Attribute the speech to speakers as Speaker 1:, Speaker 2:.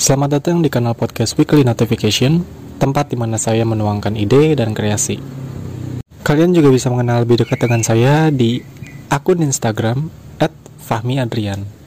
Speaker 1: Selamat datang di kanal podcast Weekly Notification, tempat di mana saya menuangkan ide dan kreasi. Kalian juga bisa mengenal lebih dekat dengan saya di akun Instagram @fahmiadrian.